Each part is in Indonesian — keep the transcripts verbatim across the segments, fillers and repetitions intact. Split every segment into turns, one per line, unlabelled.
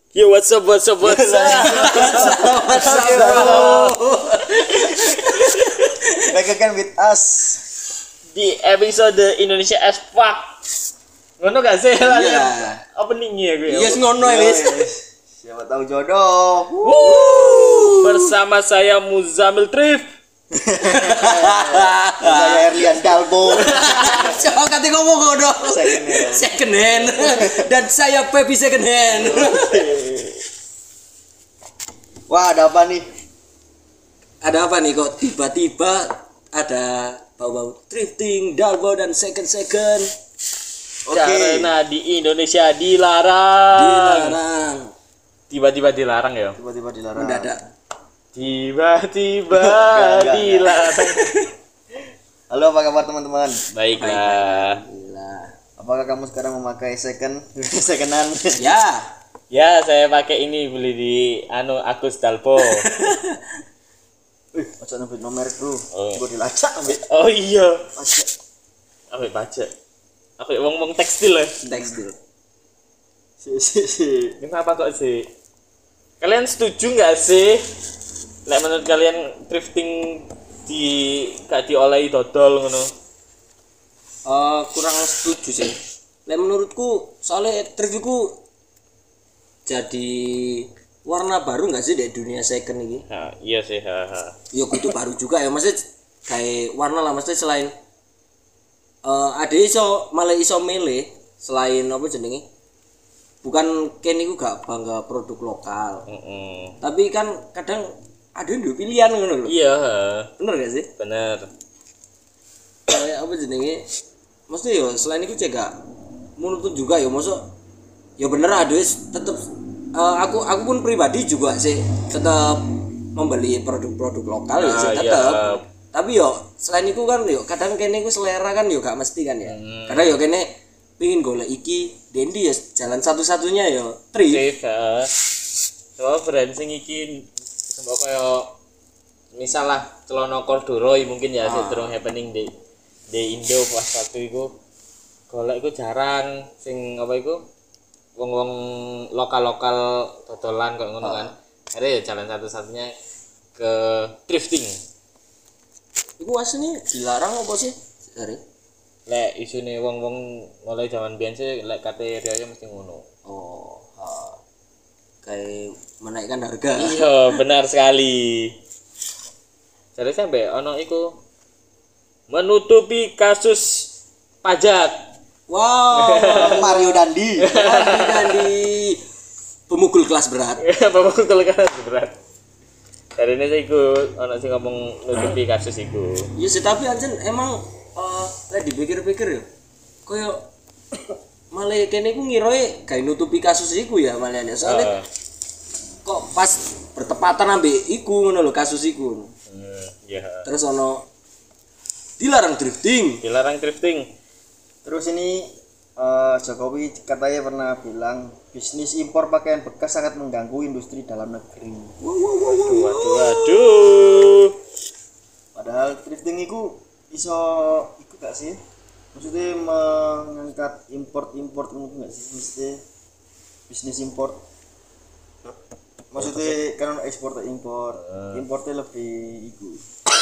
Yo, what's up, what's up, what's up?
What's up, bro? Back again with us
Di episode Indonesia as fuck. Ngono gak sih?
Iya.
Openingnya gue.
Yes, ngono ya, wis. Siapa tahu jodoh.
Woo! Bersama saya Muzamil Trif.
Saya Erlian Dalbo.
Coba kata ngomong ngono.
Second hand.
Second hand. Dan saya Pepi second hand.
Wah, ada apa nih?
Ada apa nih kok tiba-tiba ada bau-bau thrifting, Dalbo dan second second.
Oke.
Karena di Indonesia dilarang.
Dilarang.
Tiba-tiba dilarang ya.
Tiba-tiba dilarang.
Mendadak.
Tiba-tiba
Enggak, enggak,
dilarang.
Halo, apa kabar teman-teman?
Baiklah.
Gila.
Apakah kamu sekarang memakai second second hand?
Ya.
Ya, saya pakai ini beli di anu Agus Dalbo.
Wih, ojo nyebut nomor, Bro.
Oh.
Gue dilacak ambek
Oh iya.
pajak.
Ambek pajak. Ambek wong-wong tekstil ya.
Tekstil.
Si si si.
Kenapa kok sih? Kalian setuju nggak sih? Lek menurut kalian thrifting di gak diolehi dodol ngono?
Eh kurang setuju sih. Lek menurutku soalnya thrift iku jadi warna baru nggak sih di dunia second ini?
Nah, iya sih, haha.
Ya kudu baru juga ya, maksudnya kayak warna lah, maksudnya selain eh ada iso malah iso milih selain apa jenenge, bukan kene iku gak bangga produk lokal,
Heeh.
tapi kan kadang ada yang pilihan ngono lho.
Iya, ha.
Bener gak sih?
Bener.
Kayak apa jenenge, maksudnya ya selain itu cek gak menurut juga ya, maksud ya bener ada tetep eh, aku aku pun pribadi juga sih tetap membeli produk-produk lokal ya
Ah,
sih
iya.
tetap. Tapi yo selain itu kan yo kadang kene iku selera kan yo gak mesti kan ya.
Hmm.
Kadang yo kene pingin golek iki, Dendi ya jalan satu-satunya yo thrift.
Thrift, ha. Coba brand sing iki sembako kaya misal lah celana corduroy mungkin ya sing durung happening di di Indo pas waktu iku. Golek iku jarang sing apa iku wong-wong lokal-lokal dodolan kok ngono kan. Akhirnya ya jalan satu-satunya ke thrifting.
Iku asline dilarang apa sih? Dari
Lek isune wong-wong mulai zaman biyen sih lek kate riyo mesti ngono.
oh, ha. Kayak menaikkan harga.
Iya, benar sekali. Jadi sampai ono iku menutupi kasus pajak.
Wow,
Mario Dandi.
Dandi Dandi pemukul kelas berat.
Bapak kalau kan berat. Dari ini saya ikut ono sing ngomong nutupi kasus iku.
Ya sih, tapi anjen emang eh lek dipikir-pikir ya koyo malah kene iku ngiroe gawe nutupi kasus iku ya malah ya. Soalnya
Heeh.
kok pas bertepatan ambek iku ngono lho kasus iku.
Hmm, iya.
Terus ono dilarang thrifting.
Dilarang thrifting.
Terus ini eh, Jokowi katanya pernah bilang bisnis impor pakaian bekas sangat mengganggu industri dalam negeri.
Waduh, waduh, waduh.
Padahal thrifting itu iso iku gak sih? Maksudnya mengangkat import-import mungkin gak sih? Maksudnya bisnis import. Maksudnya kan ekspor atau impor. Importnya lebih iku.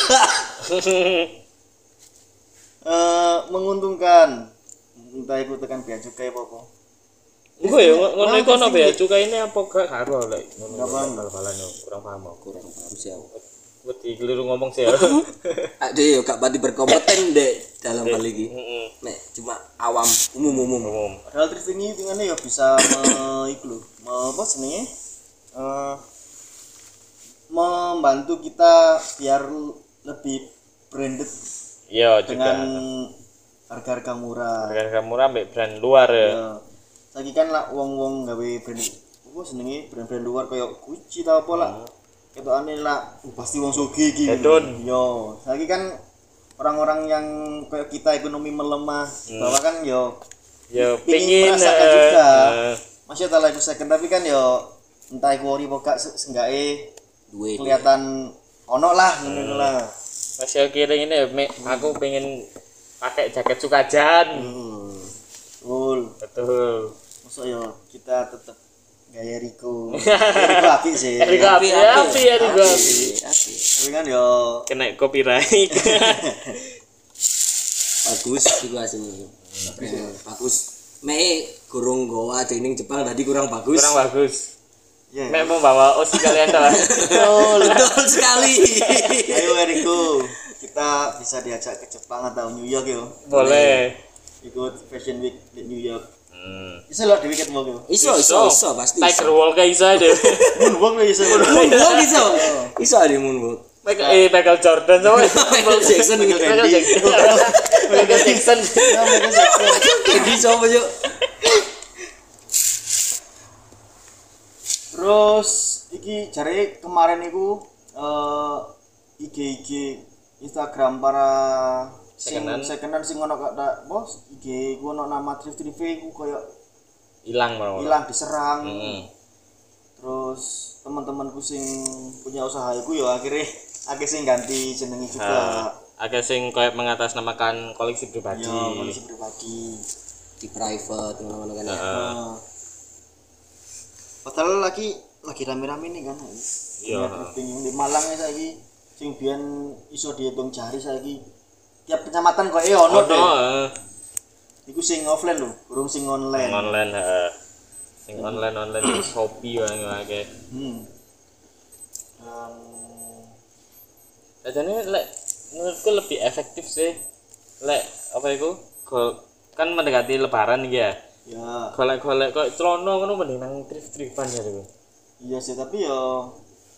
Eh menguntungkan. Entah itu tekan bea cukai apa apa.
Gue ya ngono iku ono bea cukai ini apa gak karo lek ngono.
Gak paham.
Bal-balan yo kurang paham aku.
Kurang paham sih aku.
Wedi keliru ngomong sih ya.
Ade yo gak pati berkompeten dek dalam hal iki.
Heeh.
Nek cuma awam umum-umum.
Umum.
Padahal thrifting ini tinggalnya ya bisa me, iku lho, me, apa senengnya? Eh membantu kita biar lebih branded
Iya juga.
dengan harga-harga murah.
Harga murah ambek brand luar ya.
Ya. Saiki kan lah wong-wong gawe brand apa senenge brand-brand luar kayak Gucci ta apa lah. Ketokane lah uh, pasti wong sugih iki.
Hedon.
Yo, saiki kan orang-orang yang kayak kita ekonomi melemah, bahwa kan yo
Ya
pingin
pingin
merasakan
eh,
juga.
eh,
Masih tak laku second tapi kan yo entah iku ori apa gak seenggake
Duit.
kelihatan ono lah ngono lah.
Masih kiring ini me, aku pengen pakai jaket Sukajan.
Hmm. Betul.
Betul.
Maksud yo kita tetap gaya Riko. Riko apik sih.
Riko api api ya Riko api.
Tapi kan yo
Kena copyright.
Bagus juga sini. Bagus. Me kurang goa dening Jepang tadi kurang bagus.
Kurang bagus.
ya.
Mek membawa Osi kalian dah.
Betul, betul sekali.
Ayo Riko, kita bisa diajak ke Jepang atau New York yo.
Boleh.
Ikut Fashion Week di New York.
Hmm.
Bisa lo di weekend mau yo.
Iso, iso, iso pasti.
Tiger Walk kayak iso deh.
Moonwalk lo bisa.
Moonwalk iso. Iso ada moonwalk.
Michael eh Michael Jordan sama
Michael Jackson gitu.
Michael Jackson. Michael Jackson.
Jadi coba yuk.
Terus iki jare kemarin iku eh I G I G Instagram para sing
Sekenan.
sekenan sing ono kata bos I G ku ono nama thrift thrift ku koyo
Hilang mau.
hilang diserang.
Heeh.
Terus teman-temanku sing punya usaha iku ya akhirnya akhirnya sing ganti jenengi juga.
Agak sing kayak mengatasnamakan koleksi pribadi.
Ya, kondisi pribadi.
Di private ngono-ngono kan ya.
Heeh.
Nah, padahal lagi lagi rame-rame nih kan.
Iya.
Thrifting di Malang ya saiki sing biyen iso dihitung jari saiki tiap kecamatan kok eh ono deh.
Ono.
Iku sing offline lho, burung sing online.
Sing online heeh. Sing online online di Shopee wae akeh.
Hmm. Dan
Jadi lek menurutku lebih efektif sih. Lek apa itu? Go, kan mendekati lebaran iki ya.
ya
Golek-golek kok celana ngono mending nang thrift-thriftan ya itu.
iya sih tapi ya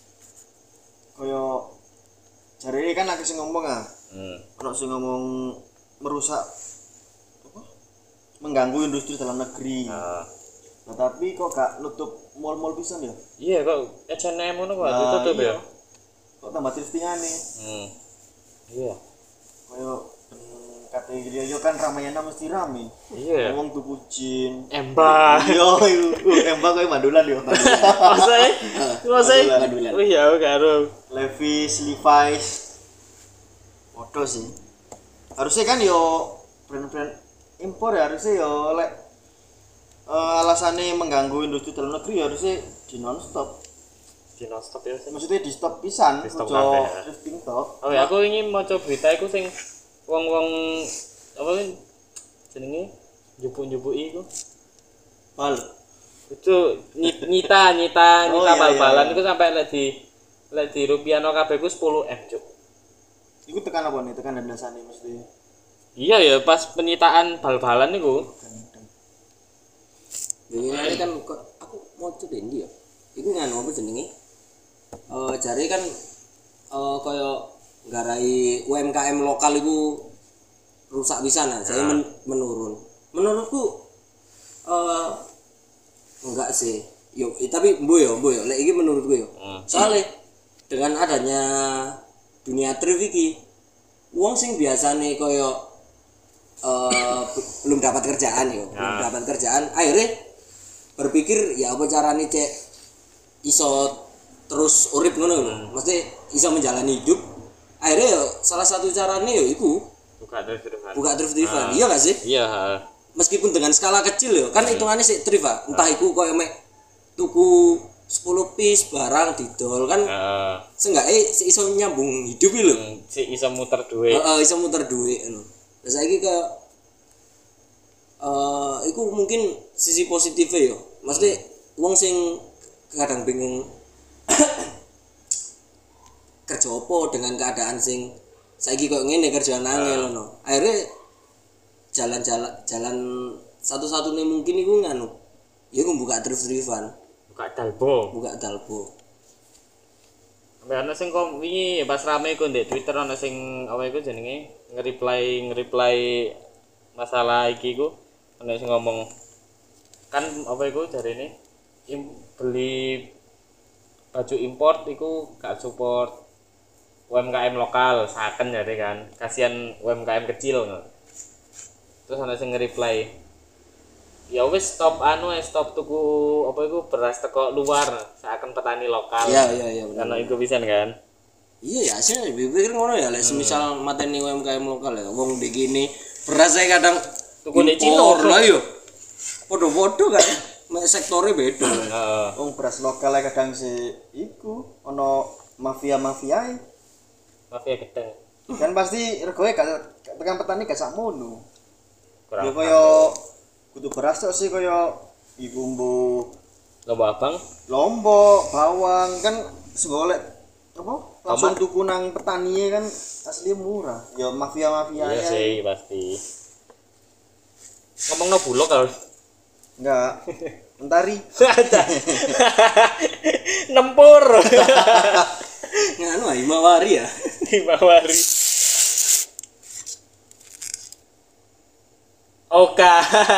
koyo jare kan akeh sing ngomong ah.
Hmm.
Ono sing ngomong merusak apa? Mengganggu industri dalam negeri.
Nah,
Nah, tapi kok gak nutup mall-mall pisan ya?
iya kok H and M ngono kok
Nah,
ditutup
iya.
ya.
Kok tambah thriftingane?
Hmm. Iya.
Koyo ben kate yo kan Ramayana mesti rame.
Iya.
Wong tuku jin.
Embah.
Yo, iku embak koyo mandulan yo.
Masa eh? Masa eh?
Mandulan.
Oh iya karo.
Levi's, Levi's. Podo sih. Harusnya kan yo brand-brand impor ya harusnya yo lek eh, alasannya mengganggu industri dalam negeri ya harusnya di non-stop.
Di non-stop ya sih.
Maksudnya di stop pisan,
Di stop
ojo
kabeh, ya.
thrifting tok.
Oh ya, aku ingin maca berita iku sing wong-wong apa kan jenenge njupuk-njupuki iku.
Bal.
Itu ny- nyita nyita
Oh,
nyita
iya,
bal-balan
iya.
iku sampai lek di lek di rupiahno kabeh ku sepuluh M, Cuk.
Iku tekan apa nih? Tekan dandasane mesti.
Iya ya, pas penyitaan bal-balan niku.
Ini kan kok aku mau coba ini ya. Iku nganu apa jenenge? Eh jare kan eh kaya nggarai U M K M lokal iku rusak pisan nah, saya men- menurun. Menurutku eh enggak sih. Yo, eh, tapi mbo yo, mbo yo. Lek iki menurutku yo.
Hmm.
Soalnya dengan adanya dunia thrift iki wong sing biasane kaya eh belum dapat kerjaan yo, belum
Ya.
dapat kerjaan akhirnya berpikir ya apa carane cek iso terus urip ngono lho. Mesti iso menjalani hidup. Akhirnya ya salah satu carane ya iku
Buka thrift-thriftan.
buka thrift-thriftan. Iya gak sih?
Iya, heeh.
Meskipun dengan skala kecil ya, kan hitungannya sih thrift ah. Entah iku koyo mek tuku sepuluh piece barang didol kan
Heeh.
seenggaknya si iso nyambung hidup iki lho.
Si iso muter duit.
Heeh, iso muter duit ngono. Lah saiki kayak eh iku mungkin sisi positifnya ya. Maksudnya wong sing kadang bingung kerja apa dengan keadaan sing saiki kok ngene kerjaan angel ngono. Akhirnya jalan-jalan jalan satu-satunya mungkin iku nganu. Ya iku buka thrift-thriftan,
Buka dalbo.
buka dalbo.
Sampai ana sing kom wingi pas rame iku ndek Twitter ana sing apa iku jenenge nge-reply nge-reply masalah iki iku ana sing ngomong kan apa iku jarene im, beli baju import iku gak support U M K M lokal saken jare kan kasihan U M K M kecil ngono. Terus ana sing nge-reply ya wis stop anu eh, stop tuku apa iku beras teko luar seakan petani lokal.
Iya iya iya bener.
Karena iku pisan kan.
Iya ya aslinya pikir ngono ya lek semisal mateni U M K M lokal ya wong begini beras saya kadang
Tuku di
impor
Cina.
lah yo. Podo-podo kan. mek sektore beda.
Heeh.
Wong beras lokal ae kadang si iku ana mafia-mafia
Mafia gedeng.
kan pasti regoe gak tekan petani gak sakmono.
Kurang
Ya kaya kudu beras tok sih kaya iku mbu
Lombok Abang.
lombok, bawang kan segolek apa? Langsung tuku nang petani kan asli murah. Ya mafia-mafia
Iya
ya.
sih pasti. Ngomong no bulog kalau
Enggak. Mentari.
Nempur
Nganu ae mawari ya.
di Mawari. Oke,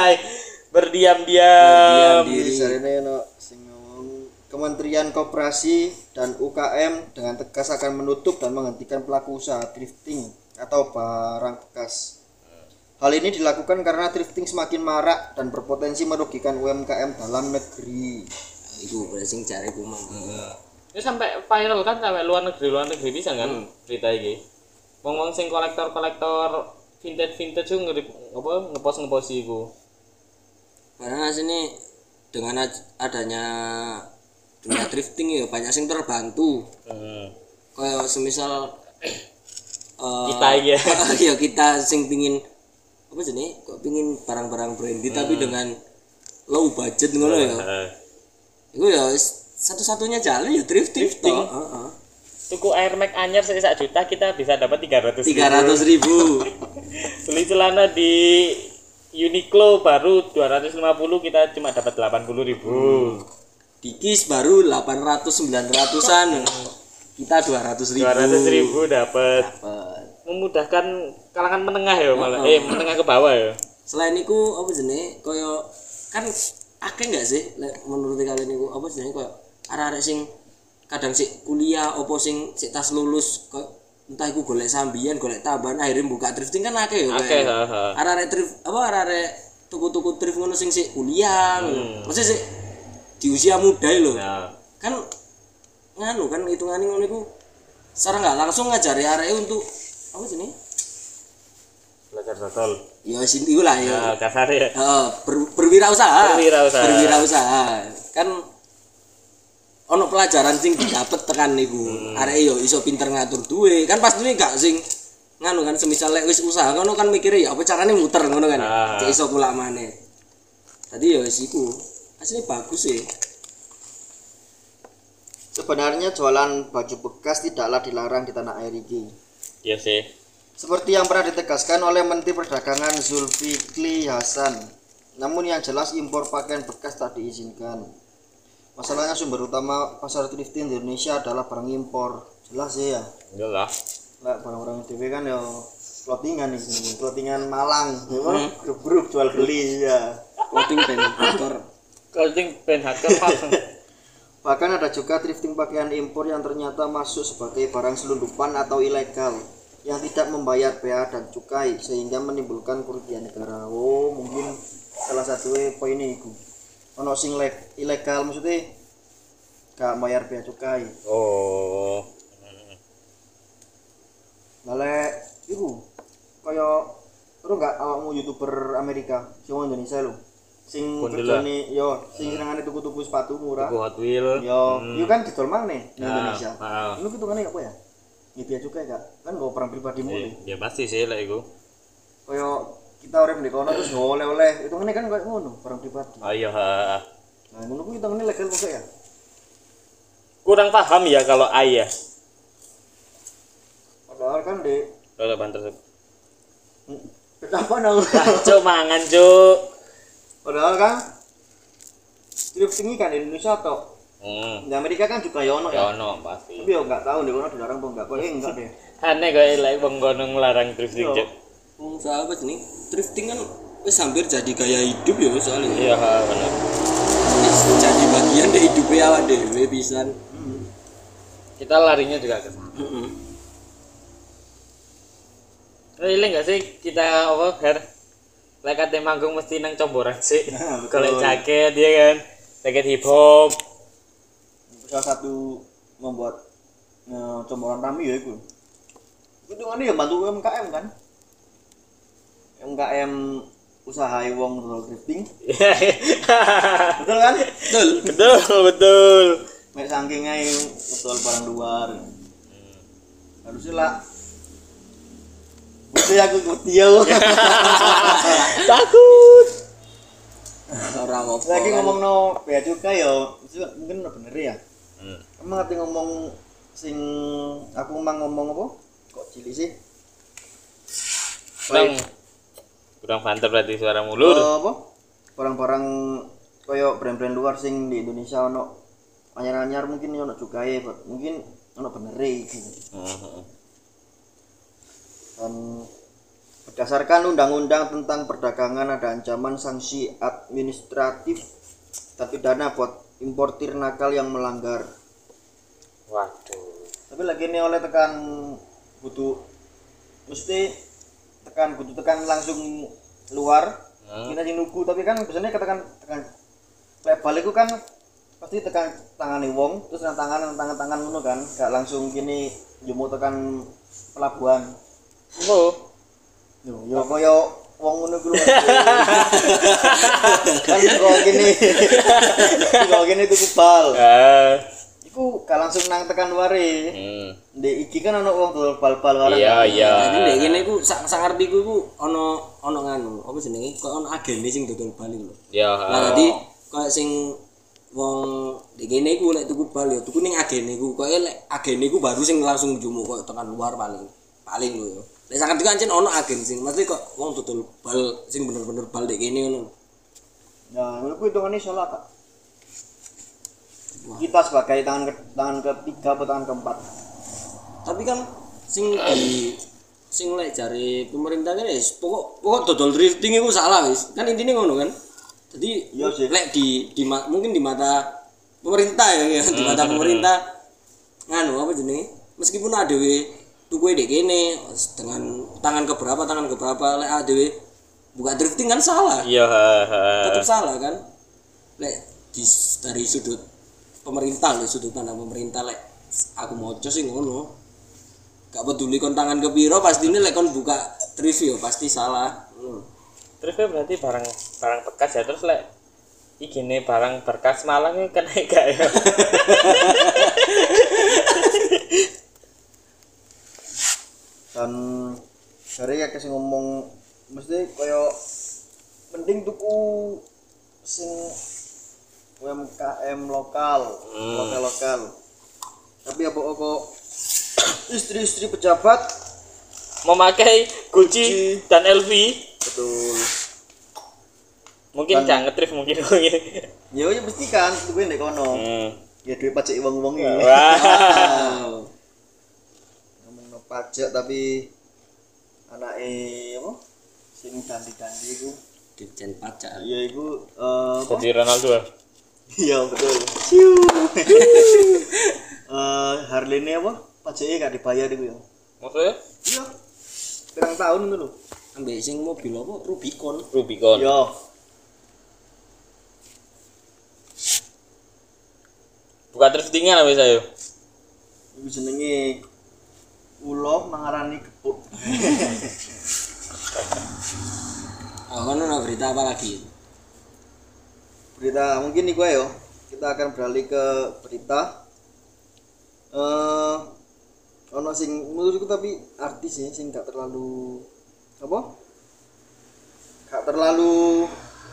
berdiam-diam.
Berdiam diri.
Jadi jarene ono sing ngomong Kementerian Koperasi dan U K M dengan tegas akan menutup dan menghentikan pelaku usaha thrifting atau barang bekas. Hal ini dilakukan karena thrifting semakin marak dan berpotensi merugikan U M K M dalam negeri.
Iku berarti sing jare ku mang.
Ini sampai viral kan sampai luar negeri luar negeri bisa kan
Hmm.
berita ini. Ngomong sing kolektor-kolektor vintage-vintage itu nge apa ngepost ngepost iku.
Karena sini dengan ad- adanya dunia thrifting ya banyak sing terbantu.
Hmm.
Kayak semisal eh,
Kita ya.
ya kita sing pingin apa jenenge kok pingin barang-barang branded tapi dengan low budget ngono ya.
Heeh.
Iku ya wis satu-satunya jalan ya thrifting.
Thrifting.
toh. Heeh.
Tuku Air Max anyar sak juta kita bisa dapat tiga ratus
tiga ratus ribu.
Beli celana di Uniqlo baru dua ratus lima puluh kita cuma dapat delapan puluh ribu.
Dikis baru delapan ratus sembilan ratusan. Kita dua ratus ribu.
dua ratus ribu dapat.
Dapat.
Memudahkan kalangan menengah ya malah. Eh menengah ke bawah ya.
Selain itu apa jenenge kaya kan akeh enggak sih lek menurut kalian niku apa jenenge kaya arek-arek sing kadang sik kuliah opo sing sik tas lulus kaya entah iku golek sambian golek tambahan akhirnya buka thrifting kan akeh ya
Akeh, heeh.
arek-arek thrift apa arek-arek tuku-tuku thrift ngono sing sik kuliah ngono. Maksudnya sik di usia muda lho.
Nah,
Kan nganu kan hitungane ngono iku secara enggak langsung ngajari areke untuk apa jenenge?
belajar total.
Ya sing iku lah ya.
Nah, kasar ya.
Heeh, ber, berwirausaha.
Berwirausaha.
Berwirausaha. Kan ono pelajaran sing didapet tekan niku.
Hmm.
Arek yo iso pinter ngatur duwe. Kan pas duwe gak sing nganu kan semisal lek wis usaha ngono kan mikire ya apa carane muter ngono kan.
Ah.
Cek iso kulak maneh. Tadi yo wis iku. Asline bagus sih.
Sebenarnya jualan baju bekas tidaklah dilarang di tanah air ini.
Iya sih.
Seperti yang pernah ditegaskan oleh Menteri Perdagangan Zulkifli Hasan. Namun yang jelas impor pakaian bekas tak diizinkan. Masalahnya sumber utama pasar thrifting di Indonesia adalah barang impor. Jelas sih ya.
Enggak lah.
Lah barang-barang T V kan ya clothingan nih, clothingan Malang. Ya, grup-grup jual beli ya.
Clothing band aktor.
Clothing pen hacker
Bahkan ada juga thrifting pakaian impor yang ternyata masuk sebagai barang selundupan atau ilegal yang tidak membayar bea dan cukai sehingga menimbulkan kerugian negara. Oh, mungkin salah satu poin ini iku. Ono sing leg- ilegal maksudnya gak bayar bea cukai.
Oh.
Lale iku kaya ora gak awakmu YouTuber Amerika sing wong Indonesia lho. Sing
Bondela.
kerjane yo sing senengane tuku-tuku sepatu murah.
Tuku Hot Wheel.
Yo, yo kan didol maneh di
Ah,
Indonesia.
ah.
Lu hitungane apa ya? Ini bea cukai gak? Kan gak perang pribadi mulu.
Ya pasti sih lah iku.
Kaya kita urip di kono terus gak oleh-oleh. Hitungane kan kayak ngono, barang pribadi.
Oh iya. ha.
Nah, ngono kuwi hitungane legal kok ya.
Kurang paham ya kalau ayah.
Padahal kan di
Kalau banter.
kenapa nang?
Cuk mangan cuk.
Padahal kan thrifting kan di Indonesia tok.
Hmm.
Di Amerika kan juga ya ono
Ya
ya.
ono pasti.
Tapi yo enggak tahu di kono dilarang apa enggak. Kok eh enggak deh.
Aneh kok lek wong kono nglarang thrifting
Iya.
cuk.
Wong sahabat nih, thrifting kan wis hampir jadi gaya hidup ya soalnya.
Iya ha, bener.
Wis jadi bagian dari hidupnya awak dhewe pisan.
Kita larinya juga ke sana.
Heeh.
Ini enggak sih kita apa Her? Lek kate manggung mesti nang comboran sih.
Nah, betul.
Golek jaket ya kan. Jaket hip hop.
Salah satu membuat eh, comboran rame ya itu. Itu kan ya bantu U M K M kan. U M K M usaha wong road drifting. Betul kan?
Betul.
Betul, betul.
Mek saking ae betul barang luar. Harusnya lah. Mesti aku ngerti ya.
Takut.
Ora apa.
Lagi ngomong no bea cukai yo, mungkin bener ya.
Hmm.
Emang ngerti ngomong sing aku emang ngomong apa? Kok cilik sih?
Kurang kurang banter berarti suara mulur.
Eh, apa? Barang-barang koyo brand-brand luar sing di Indonesia ono anyar-anyar mungkin ono cukai, mungkin ono bener iki.
Heeh.
Dan berdasarkan undang-undang tentang perdagangan ada ancaman sanksi administratif dan pidana buat importir nakal yang melanggar.
Waduh.
Tapi lagi ini oleh tekan butuh mesti tekan butuh tekan langsung luar.
Hmm.
Kita sing nuku tapi kan biasanya katakan tekan lek balik kan pasti tekan tangane wong terus nang tangan nang tangan-tangan ngono kan gak langsung gini jumuk tekan pelabuhan.
Oh.
Yo yo koyo wong ngono kuwi. Kan kok gini. Kok gini tuku bal.
Ah.
Iku gak langsung nang tekan luare.
Hmm.
Ndek iki kan ono wong dol bal-bal barang.
Iya, iya.
Jadi nek ngene iku sak sak ngertiku iku ono ono nganu, apa jenenge? Kok ono agene sing dodol bal iku lho.
Ya.
Nah, dadi koyo sing wong nek ngene iku lek tuku bal ya tuku ning agene iku. Koyo lek agene iku baru sing langsung jumuk koyo tekan luar paling. Paling lho ya. Lek sak ngertiku ancen ono agen sing mesti kok wong dodol bal sing bener-bener bal nek kene ngono.
Nah, menurutku hitungannya salah kak. Kita sebagai tangan ke, tangan ketiga atau tangan keempat.
Tapi kan sing di sing lek jare pemerintah kan wis pokok pokok dodol drifting iku salah wis. Kan intine ngono kan. Jadi
Iya sih.
lek di di ma- mungkin di mata pemerintah ya, ya di mata pemerintah nganu apa jenenge? Meskipun ada we tuku dek kene dengan tangan keberapa tangan keberapa lek ada we buka drifting kan salah.
Iya,
Tetap salah kan. Lek di dari sudut pemerintah lho sudut pandang pemerintah lek aku moco sih ngono. Gak peduli kon tangan ke piro pastine lek kon buka review pasti salah. Hmm.
Terus kan berarti barang barang bekas ya terus lek igine barang bekas Malang ini kena gak ya?
Dan dari ya kasih ngomong mesti koyo mending tuku sing U M K M lokal,
Hmm.
lokal lokal. Tapi apa kok istri-istri pejabat
Memakai Gucci,
Gucci.
dan L V
betul.
mungkin
Dan-
jangan ngetrif mungkin mungkin.
Ya ya mesti kan tuku ndek kono.
Hmm.
Ya duit pajak wong-wong iki.
Wah.
Ngomong no pajak tapi anake apa? Sing dandi-dandi iku.
Ditjen pajak.
Ya iku eh apa?
Jadi Ronaldo.
Iya betul. Ciu. Eh Harley-ne apa? Pajaknya gak dibayar iku ya.
Maksudnya
Iya. Pirang tahun ngono lho.
Ambek sing mobil apa Rubicon.
Rubicon.
Iya.
Buka driftingan lah bisa yo.
Iku jenenge ulo mangarani kepuk.
Oh, kan ada berita apa lagi?
Berita mungkin iku ayo. Kita akan beralih ke berita. Eh ono sing menurutku tapi artis ya sing gak terlalu apa? Gak terlalu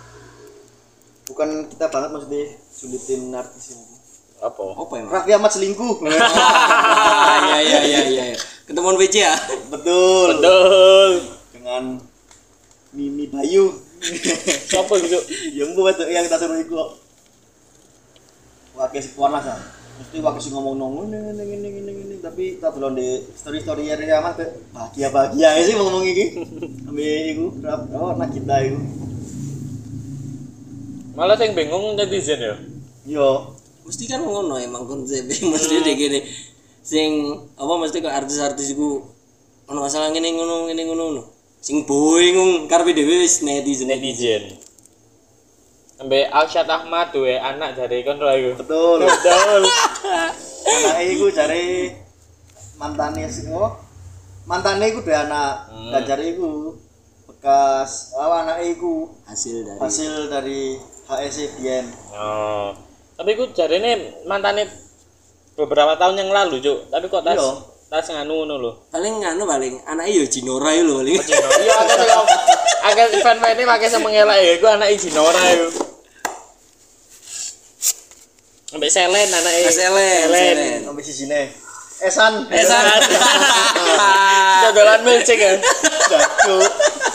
bukan kita banget maksudnya sulitin artis ini.
Apa?
Apa emang?
Raffi Ahmad selingkuh.
Iya iya iya iya. Ketemuan W C ya?
Betul.
Betul.
Dengan Mimi Bayu.
Siapa gitu?
Yang buat yang kita suruh iku kok. Wakil sekuan lah san. Mesti wakil sing ngomong nong ngene ngene ngene ngene ngene tapi tak delon di story story ya aman bahagia bahagia sih ngomong iki. Ambil iku rap oh nak kita iku.
Malah yang bingung netizen ya.
Yo.
Mesti kan ngono emang konsep mesti dek gini. Sing apa mesti kok artis-artis iku ono masalah ngene ngono ngene ngono ngono. Sing boing karepe dhewe wis netizen
Netizen. Sampai Alshad Ahmad duwe anak dari kon ro iku.
Betul.
Betul.
Anake iku jare mantane sing apa? Mantane iku duwe anak.
Hmm.
Dan jare iku bekas apa anake iku
hasil dari
hasil dari H S E biyen.
Oh. Tapi ku jarene mantane beberapa tahun yang lalu, Cuk. Tapi kok tas
Iya.
tas nganu ngono lho.
paling nganu paling anaknya yo Jinora yo lho paling.
Iya, akeh sing akeh fan-fan pakai sing mengelak ya iku anake Jinora yo. Ambek Selen anake.
Selen, Selen.
Sampai sisine. Esan.
Esan. Dodolan milcik ya.
Cuk.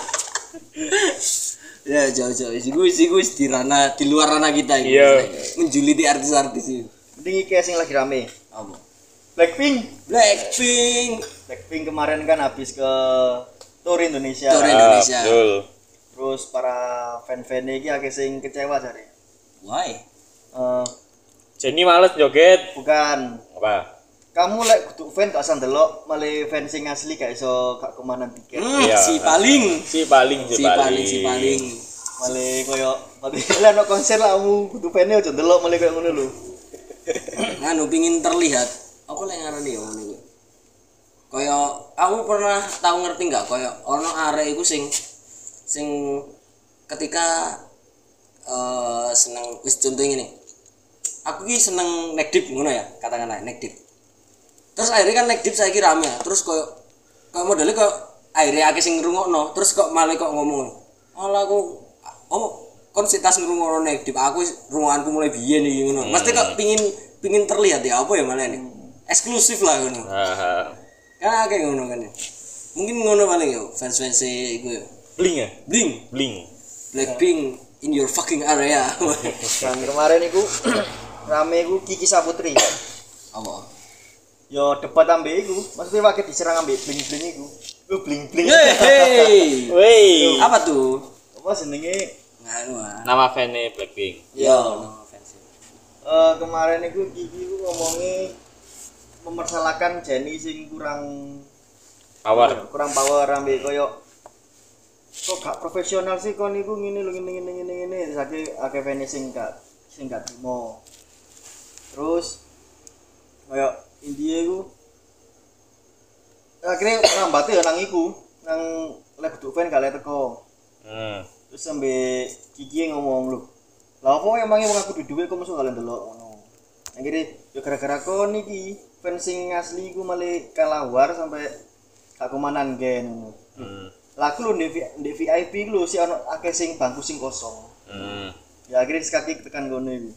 Ya jauh-jauh sih gue sih gue di ranah di luar ranah kita gitu.
Iya.
Menjuliti artis-artis itu.
Mending iki sing lagi rame.
Apa?
Blackpink.
Blackpink.
Blackpink kemarin kan habis ke tour Indonesia.
Tour Indonesia.
Ah, betul.
Terus para fan-fan iki akeh sing kecewa jare.
Why?
Eh
Jenny males joget.
bukan.
Apa?
Kamu lek kudu fan gak usah ndelok, malah fan sing asli gak iso gak kemanan tiket.
Hmm,
Iya.
si paling.
Si paling si,
Si paling si paling.
Malah koyo mati lek ono konser lah kamu kudu fane aja ndelok malah koyo ngono lho.
Nganu pingin terlihat. Apa lek ngarani yo ngene kuwi? Kaya aku pernah tahu ngerti enggak kaya ono arek iku sing sing ketika eh seneng wis contoh ngene. Aku ki seneng nek dip ngono ya, katakanlah nek dip. Terus akhirnya kan nek dip saiki rame ya. Terus koyo koyo modele koyo akhirnya akeh sing ngrungokno, terus kok malah kok ngomong, "Alah aku oh kon sitas ngrungokno nek dip, aku rungokanku mulai biyen iki ngono." Mesti kok pingin pingin terlihat ya apa ya malah ini. Eksklusif lah ngono.
Heeh.
Kan akeh ngono kan. Mungkin ngono paling yo fans-fans e iku yo.
Bling ya?
Bling,
Bling.
Blackpink in your fucking area.
Dan kemarin iku rame iku Kiki Saputri.
Apa?
Yo debat ambek iku, maksudnya wae diserang ambek bling-bling iku. Lu bling-bling.
Hey.
Wey.
Apa tuh?
Apa jenenge?
Nganu ah.
Nama fan-nya Blackpink.
Yo, nama fans.
Eh kemarin iku Kiki iku ngomongi mempersalahkan Jenny sing kurang
Power.
kurang power ambek koyo kok gak profesional sih kon niku ngene lho ngene ngene ngene ngene saiki akeh fans sing gak sing gak trimo. Terus koyo India iku akhirnya rambate ya nang iku nang lek kudu fan gak lek teko.
Hmm.
Terus sampe Kiki ngomong lho. Lah kok emangnya wong aku duwe kok mesti gak ndelok ngono. Akhirnya ya gara-gara kon iki fans sing asli iku malah kalah war sampai gak kemanan gen ngono.
Hmm.
Lah aku lho di di V I P lho si ono akeh sing bangku sing kosong.
Hmm.
Ya akhirnya sekaki tekan kono iku.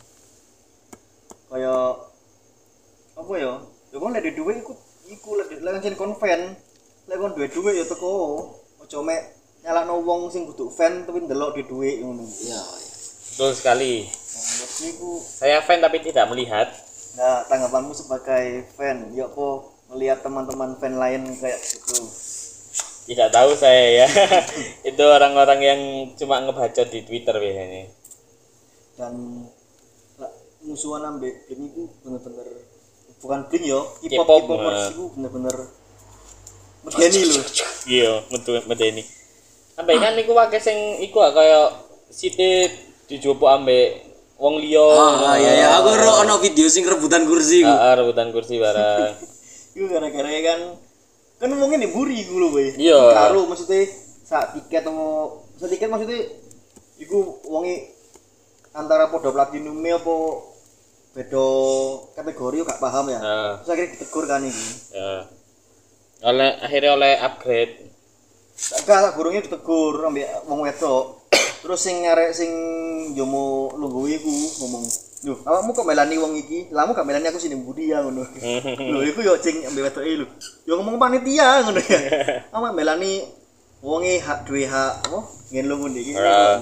Kaya apa ya? Ya kon lek duwe iku iku lek lek jen kon fan, lek kon duwe duwe ya teko. Ojo mek nyalakno wong sing kudu fan tapi ndelok di duwe ngono.
Iya, iya.
Betul sekali.
Nah, menurut iku
Saya fan tapi tidak melihat.
nah tanggapanmu sebagai fan, ya apa melihat teman-teman fan lain kayak gitu?
Tidak tahu saya ya. Itu orang-orang yang cuma ngebacot di Twitter biasanya.
Dan lah, musuhan ambek Blink itu bener-bener bukan Blink yo, K-pop
K-pop,
K-popers
nah.
itu bener-bener medeni lho.
Iya, metu medeni. Ambek kan niku wae sing iku ah, kaya site dijupuk ambek wong liya.
Ah, iya ya, aku ro ono video sing rebutan kursi ku.
Heeh, rebutan kursi barang.
Iku gara-gara kan kan mungkin diburi iku lho we.
Iya.
Karo maksudnya sak tiket atau sak tiket maksudnya iku wonge antara podo platinum apa beda kategori gak paham ya.
Heeh.
Terus akhirnya ditegur kan iki.
Ya. Oleh akhirnya oleh upgrade.
Gak gurungnya ditegur ambek wong wedok. Terus sing nyarek sing jomo lungguh iku ngomong, "Lho, awakmu kok melani wong iki? Lah, kamu gak melani aku sini budi ya ngono." Lho, iku yo sing ambek wedoke lho. Yo ngomong panitia ngono ya. Awak melani wonge hak duwe hak apa? Ngen lu ngono iki.
Ora.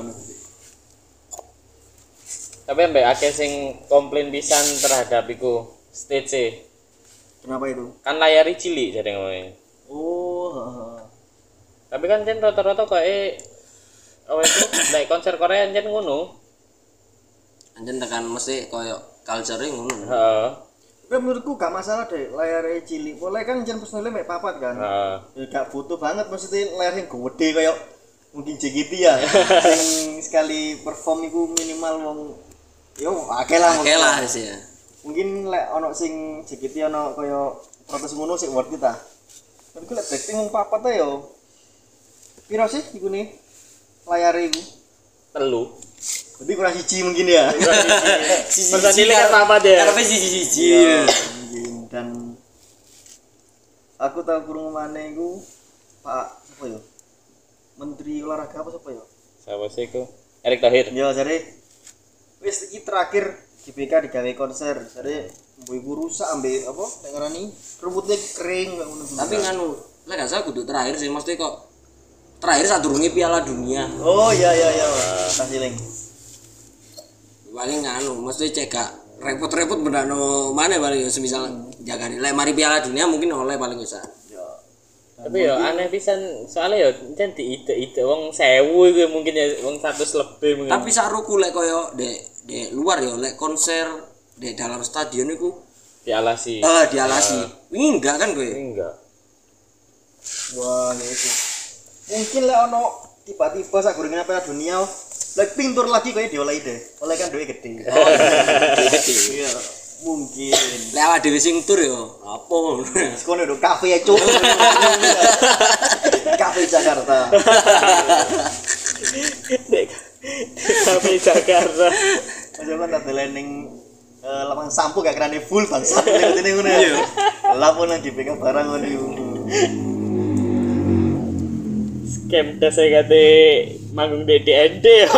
Tapi ambek akeh sing komplain pisan terhadap iku stage e.
Kenapa itu?
Kan layari cilik jadi ngomongnya.
Oh, heeh.
Tapi kan jen rata-rata kok eh oh itu like konser Korea jen ngono.
Anjen tekan mesti koyo culture-e ngono.
Heeh.
Tapi menurutku gak masalah deh layar cilik. Boleh kan jen personilnya mek papat kan.
Heeh.
Ya gak butuh banget maksudnya layar yang gede kayak mungkin J G T ya. Sing sekali perform iku minimal wong yo akeh lah.
Oke lah sih ya.
Mungkin lek ono sing J G T ono kaya protes ngono sik worth it ta. Tapi lek Blackpink wong papat ta yo. piro sih iku nih? Layare iku.
Telu.
Berarti kurang siji mungkin ya.
Personilnya kan sama deh.
Karepe siji-siji.
Iya, mungkin. Dan aku tahu kurung mana iku Pak apa ya? Menteri olahraga apa siapa ya?
Siapa sih iku? Erick Thohir.
Ya jare wis iki terakhir G B K digawe konser. Jare mbok iku rusak ambek apa? Nek ngarani rumputnya kering kayak ngono.
Tapi nganu, lek gak salah kudu terakhir sih mesti kok terakhir sadurunge Piala Dunia.
Oh iya iya iya. Kasih link.
Paling nganu, mesti cek gak repot-repot benakno mana paling semisal jagane. Lek mari Piala Dunia mungkin oleh paling bisa.
Ya.
Tapi ya aneh pisan soalnya ya jan diide-ide wong sewu iku mungkin ya wong seratus lebih mungkin.
Tapi saruku lek koyo dek dek luar ya lek konser di dalam stadion iku
dialasi.
eh dialasi. Wingi enggak kan kowe?
Enggak.
Wah, ya itu. Mungkin lek ono tiba-tiba sak gorengane Piala Dunia, lek pintur lagi koyo diolehi deh. Oleh kan duwe gede.
Oh,
Iya, mungkin.
lek awak dhewe sing tur yo apa?
Sekono do kafe ya, Cuk. Kafe Jakarta.
Dek. Sampai Jakarta.
Coba tak delening eh lapangan sampo gak kerane full bangsa ngene ngono ya. Lapun lagi pegang barang ngono iku.
Scam tes saya kate manggung di D N D ya.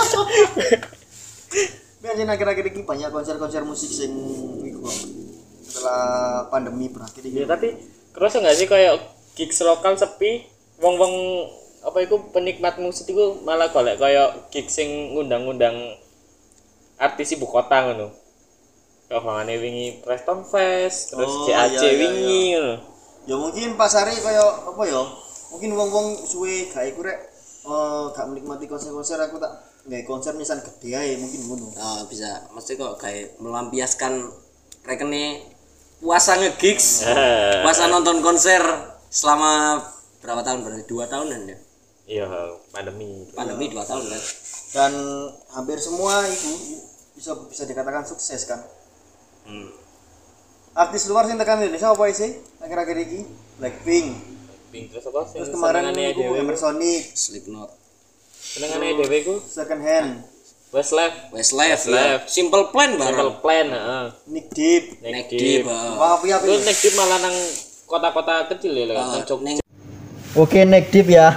Biasanya akhir-akhir ini banyak konser-konser musik sing iku kok. Setelah pandemi berakhir
Ya
iki.
tapi kerasa nggak sih kayak gigs lokal sepi, wong-wong apa itu penikmat musik itu malah golek kayak gigs sing ngundang-ngundang artis ibu kota ngono. Kayak bangane wingi Preston Fest, terus
Oh,
C A C
iya, iya,
wingi ngono.
Ya mungkin pasare kaya apa ya? Mungkin wong-wong suwe gak iku rek eh gak menikmati konser-konser aku tak nggae konser misal gede ae mungkin ngono.
Oh, bisa mesti kok kayak melampiaskan rekene puasa nge-gigs. Puasa nonton konser selama berapa tahun berarti dua tahunan ya?
Iya, pandemi.
Pandemi dua tahun kan.
Dan hampir semua itu bisa bisa dikatakan sukses kan.
Hmm.
Artis luar sing tekan Indonesia apa sih? Akhir-akhir iki Blackpink.
Pink terus apa sih?
Terus kemarin
senengane
itu
dhewe.
Emersonic,
Slipknot,
Senengane dhewe ku
Second Hand,
Westlife,
Westlife,
Westlife.
ya. Simple Plan bareng.
Simple Plan, heeh.
Nick Deep.
Neck
Neck
Deep.
Deep. ah.
Wah, apa ya?
Lu Neck Deep malah nang kota-kota kecil ya,
Ah,
nang Jogja.
neng-
Oke, Nick Deep ya.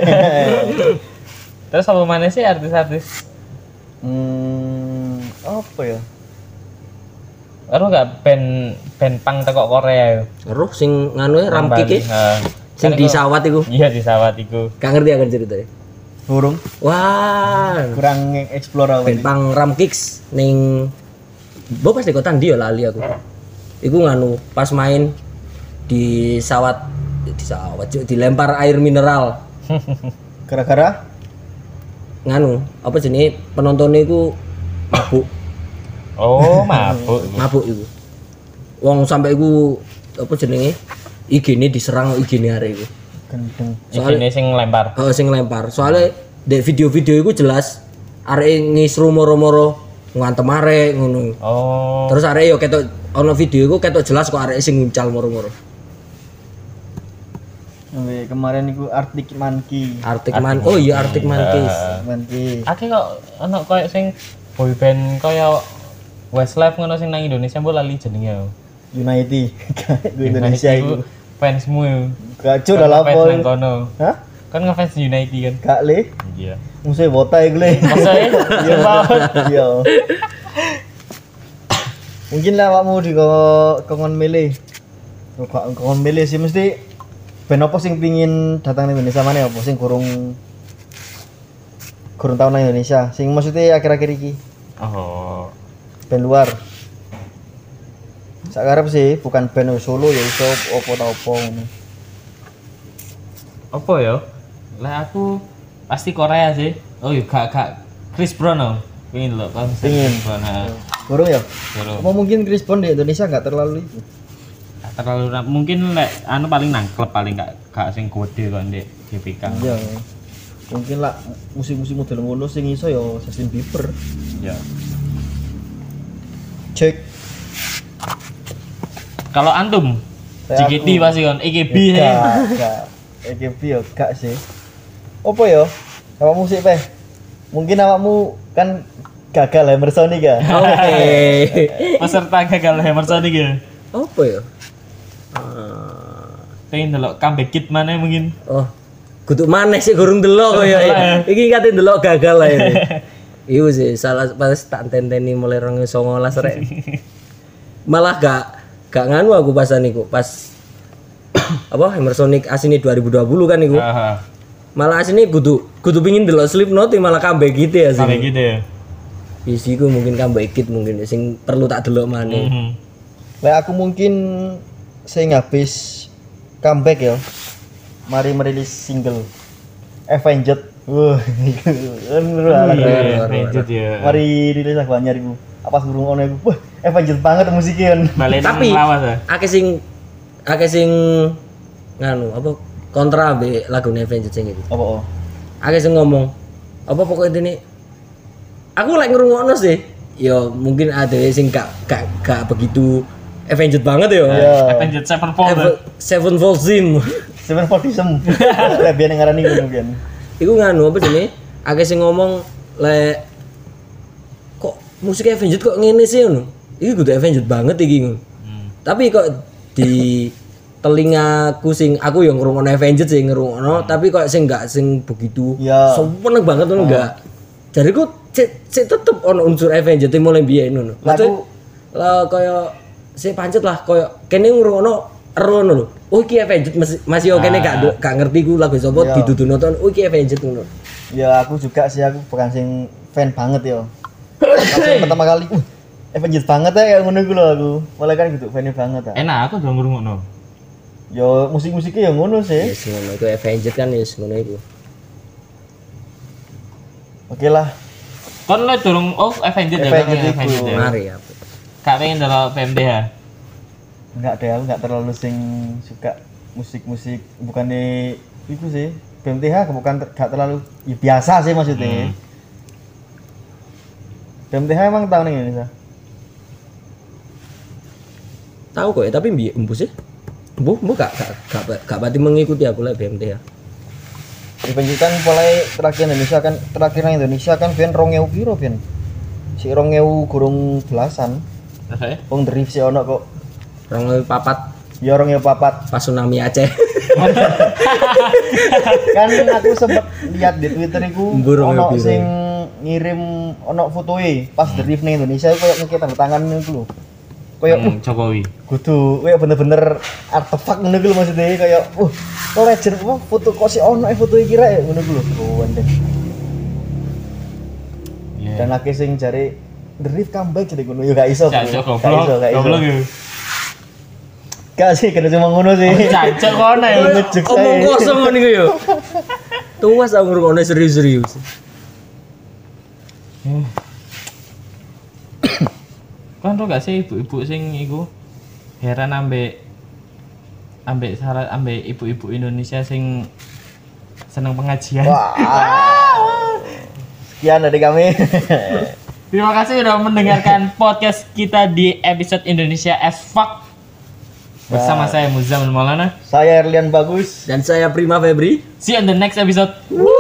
Terus apa mana sih artis-artis?
Hmm, apa ya?
Ero gak band band punk teko Korea yo.
Aduh, sing nganu ya
Nang
Ramkik
Bali,
ya.
heeh.
Sing
Kan
di
iku-
sawat iku.
Iya di sawat iku.
Gak ngerti akan ceritanya.
Burung.
Wah,
Kurang explore apa
band pang Ramkicks ning Bo pas di kota ndi ya lali aku. Iku nganu pas main di sawat di sawat Cuk, dilempar air mineral.
Gara-gara
Nganu, apa jenenge penontonnya iku mabuk,
Oh, mabuk.
mabuk iku. Wong sampai iku apa jenenge? I G-ne diserang I G-ne arek iku.
gendeng.
Iki sing lempar.
Oh, sing lempar. Soalnya di video-video iku jelas arek ngisru moro-moro ngantem arek ngono.
Oh.
Terus arek yo ketok ono video iku ketok jelas kok arek sing nguncal moro-moro.
Sampai kemarin itu Arctic Monkey.
Arctic Man. Oh iya Arctic Monkeys.
Monkey.
Aki kok ono koyo sing boy band koyo Westlife ngono sing nang Indonesia mbok lali jenenge.
United. Gue Indonesia itu.
Fansmu.
Gacor
Kan
dah
ngefans
lapor.
nang kono.
Hah?
Kan ngefans United kan.
Kak le,
Iya.
musuh botai gue le.
Masa ya? Iya banget.
Iya. Mungkin lah awakmu di kongon mele. Kok kongon mele sih mesti ben apa sing pingin datang ning Indonesia mana apa sing kurung kurung tahun nang Indonesia. Sing maksudnya akhir-akhir iki
Oh.
band luar. Sakarep sih bukan band solo ya iso opo ta opo ngono.
Apa ya? Lah aku pasti Korea sih. Oh iya gak gak Chris Brown oh. Pingin lho konser
Pingin.
Chris Brown. Heeh.
Kurung ya?
Terus
Apa mungkin Chris Brown di Indonesia nggak terlalu itu?
terlalu ra- mungkin lek anu paling nang klub paling gak gak sing gede kok ndek G B K.
Iya. Mungkin lah musik-musik model ngono sing iso ya Justin Bieber.
Iya.
Cek.
Kalau antum
Kayak
J K T
aku.
pasti kan E K B
Gak,
ya.
gak. E K B ya gak sih. Apa ya? Awakmu sih, Peh. Mungkin awakmu kan gagal Emersonic ya.
Oke.
Peserta gagal Emersonic ya.
Apa ya? Ah,
Pengen delok comeback kit mana mungkin.
oh, kudu maneh sih gurung delok kaya ya. Iki kate delok gagal lah ini. Iya sih, salah pas tak tenteni mulai rong songolas rek. Malah gak gak nganu aku pas niku, pas apa Emersonic asine dua ribu dua puluh kan niku.
Heeh.
Malah asine kudu kudu pengin delok Slipknot malah comeback gitu ya sih.
Comeback gitu ya.
Isiku mungkin comeback kit mungkin sing perlu tak delok maneh.
Mhm.
Lah aku mungkin saya habis comeback ya. Mari merilis single Avenged. Wah, kan seru lah lagu.
Iya, lanjut ya.
Mari rilis lagu anyar iku. Apa surung ono iku. Wah, Avenged banget musiknya kan.
Balen
Tapi
lawas ya.
akeh sing akeh sing nganu apa kontra be lagu Avenged sing iki.
Apa oh?
Akeh sing ngomong apa pokoknya ini aku lagi ngrungokno sih. Ya mungkin ada sing gak gak gak begitu Avenged banget ya.
Iya.
Avenged Sevenfold. ya.
Ave- Sevenfold Zim.
Seven Fortism. Lah biyen ngarani ngono biyen.
Iku nganu apa jenenge? Akeh sing ngomong le kok musik Avenged kok ngene sih ngono. Iki kudu Avenged banget iki ngono.
Hmm.
Tapi kok di telingaku sing aku yang ngrungokno Avenged sing ngrungokno, tapi kok sing enggak sing begitu
Ya.
seneng banget ngono enggak. Jariku cek cek tetep ono unsur Avenged yang mulai biyen ngono. Maksudnya lah kaya sing pancet lah kaya kene ngrungokno ero ngono lho. Oh iki Avenged masih masih oke nih gak gak ngerti ku lagu sapa
Iya.
didudu nonton. Oh iki Avenged ngono.
Ya aku juga sih aku bukan sing fan banget ya. Pas yang pertama kali, uh, Avenged banget ya kayak ngono iku lho aku. Mulai kan gitu fan banget ya.
Enak aku udah ngrungokno.
Ya musik-musiknya ya ngono sih.
Yes, ngono iku Avenged kan yes ngono iku.
Oke lah.
Kon le durung oh Avenged ya,
Avenged
kan,
iku.
Avenged ya.
Mari ya.
Gak pengen delok P M D ya.
Enggak deh, aku enggak terlalu sing suka musik-musik bukannya itu sih. B M T H bukan ter- gak terlalu ya biasa sih maksudnya.
Hmm.
B M T H emang tahu nih Indonesia.
Tahu kok ya, tapi mbi empu sih. Empu, empu gak gak gak, gak pati mengikuti aku lah B M T ya.
Avenged kan mulai terakhir Indonesia kan terakhir nang Indonesia kan ben rong ewu piro ben. Si rong ewu gurung belasan.
Oke.
Wong drift sih ono kok.
Rong papat
Ya rong ewu papat.
pas tsunami Aceh.
Kan aku sempet lihat di Twitter iku
Mbur rong ewu
ono
piro.
sing ngirim ono fotoe pas drift ning Indonesia iku koyo ngekek tanda tangan niku lho. Koyo uh,
Hmm, Jokowi.
kudu koyo bener-bener artefak ngono iku lho maksudnya kayak uh kok legend apa foto kok si ono e foto iki rek ngono iku lho. Oh anjir.
Iya.
Dan akeh sing jare drift comeback jadi ngono ya gak iso. bro.
Cacok
Gak iso,
goblok.
gak iso.
Goblok ya.
Gak sih kena cuma ngono sih.
Cacok kono ya.
Ngejuk saya.
Omong kosong ngono iku yo. Tuwas aku ngrungokne serius-serius.
Kan tau gak sih ibu-ibu sing iku heran ambek ambek salah ambek ibu-ibu Indonesia sing seneng pengajian.
Wah. Sekian dari kami.
Terima kasih sudah mendengarkan podcast kita di episode Indonesia as Fuck. Bersama saya Muzamil Maulana.
Saya Erlian Bagus.
Dan saya Prima Febri.
See you on the next episode.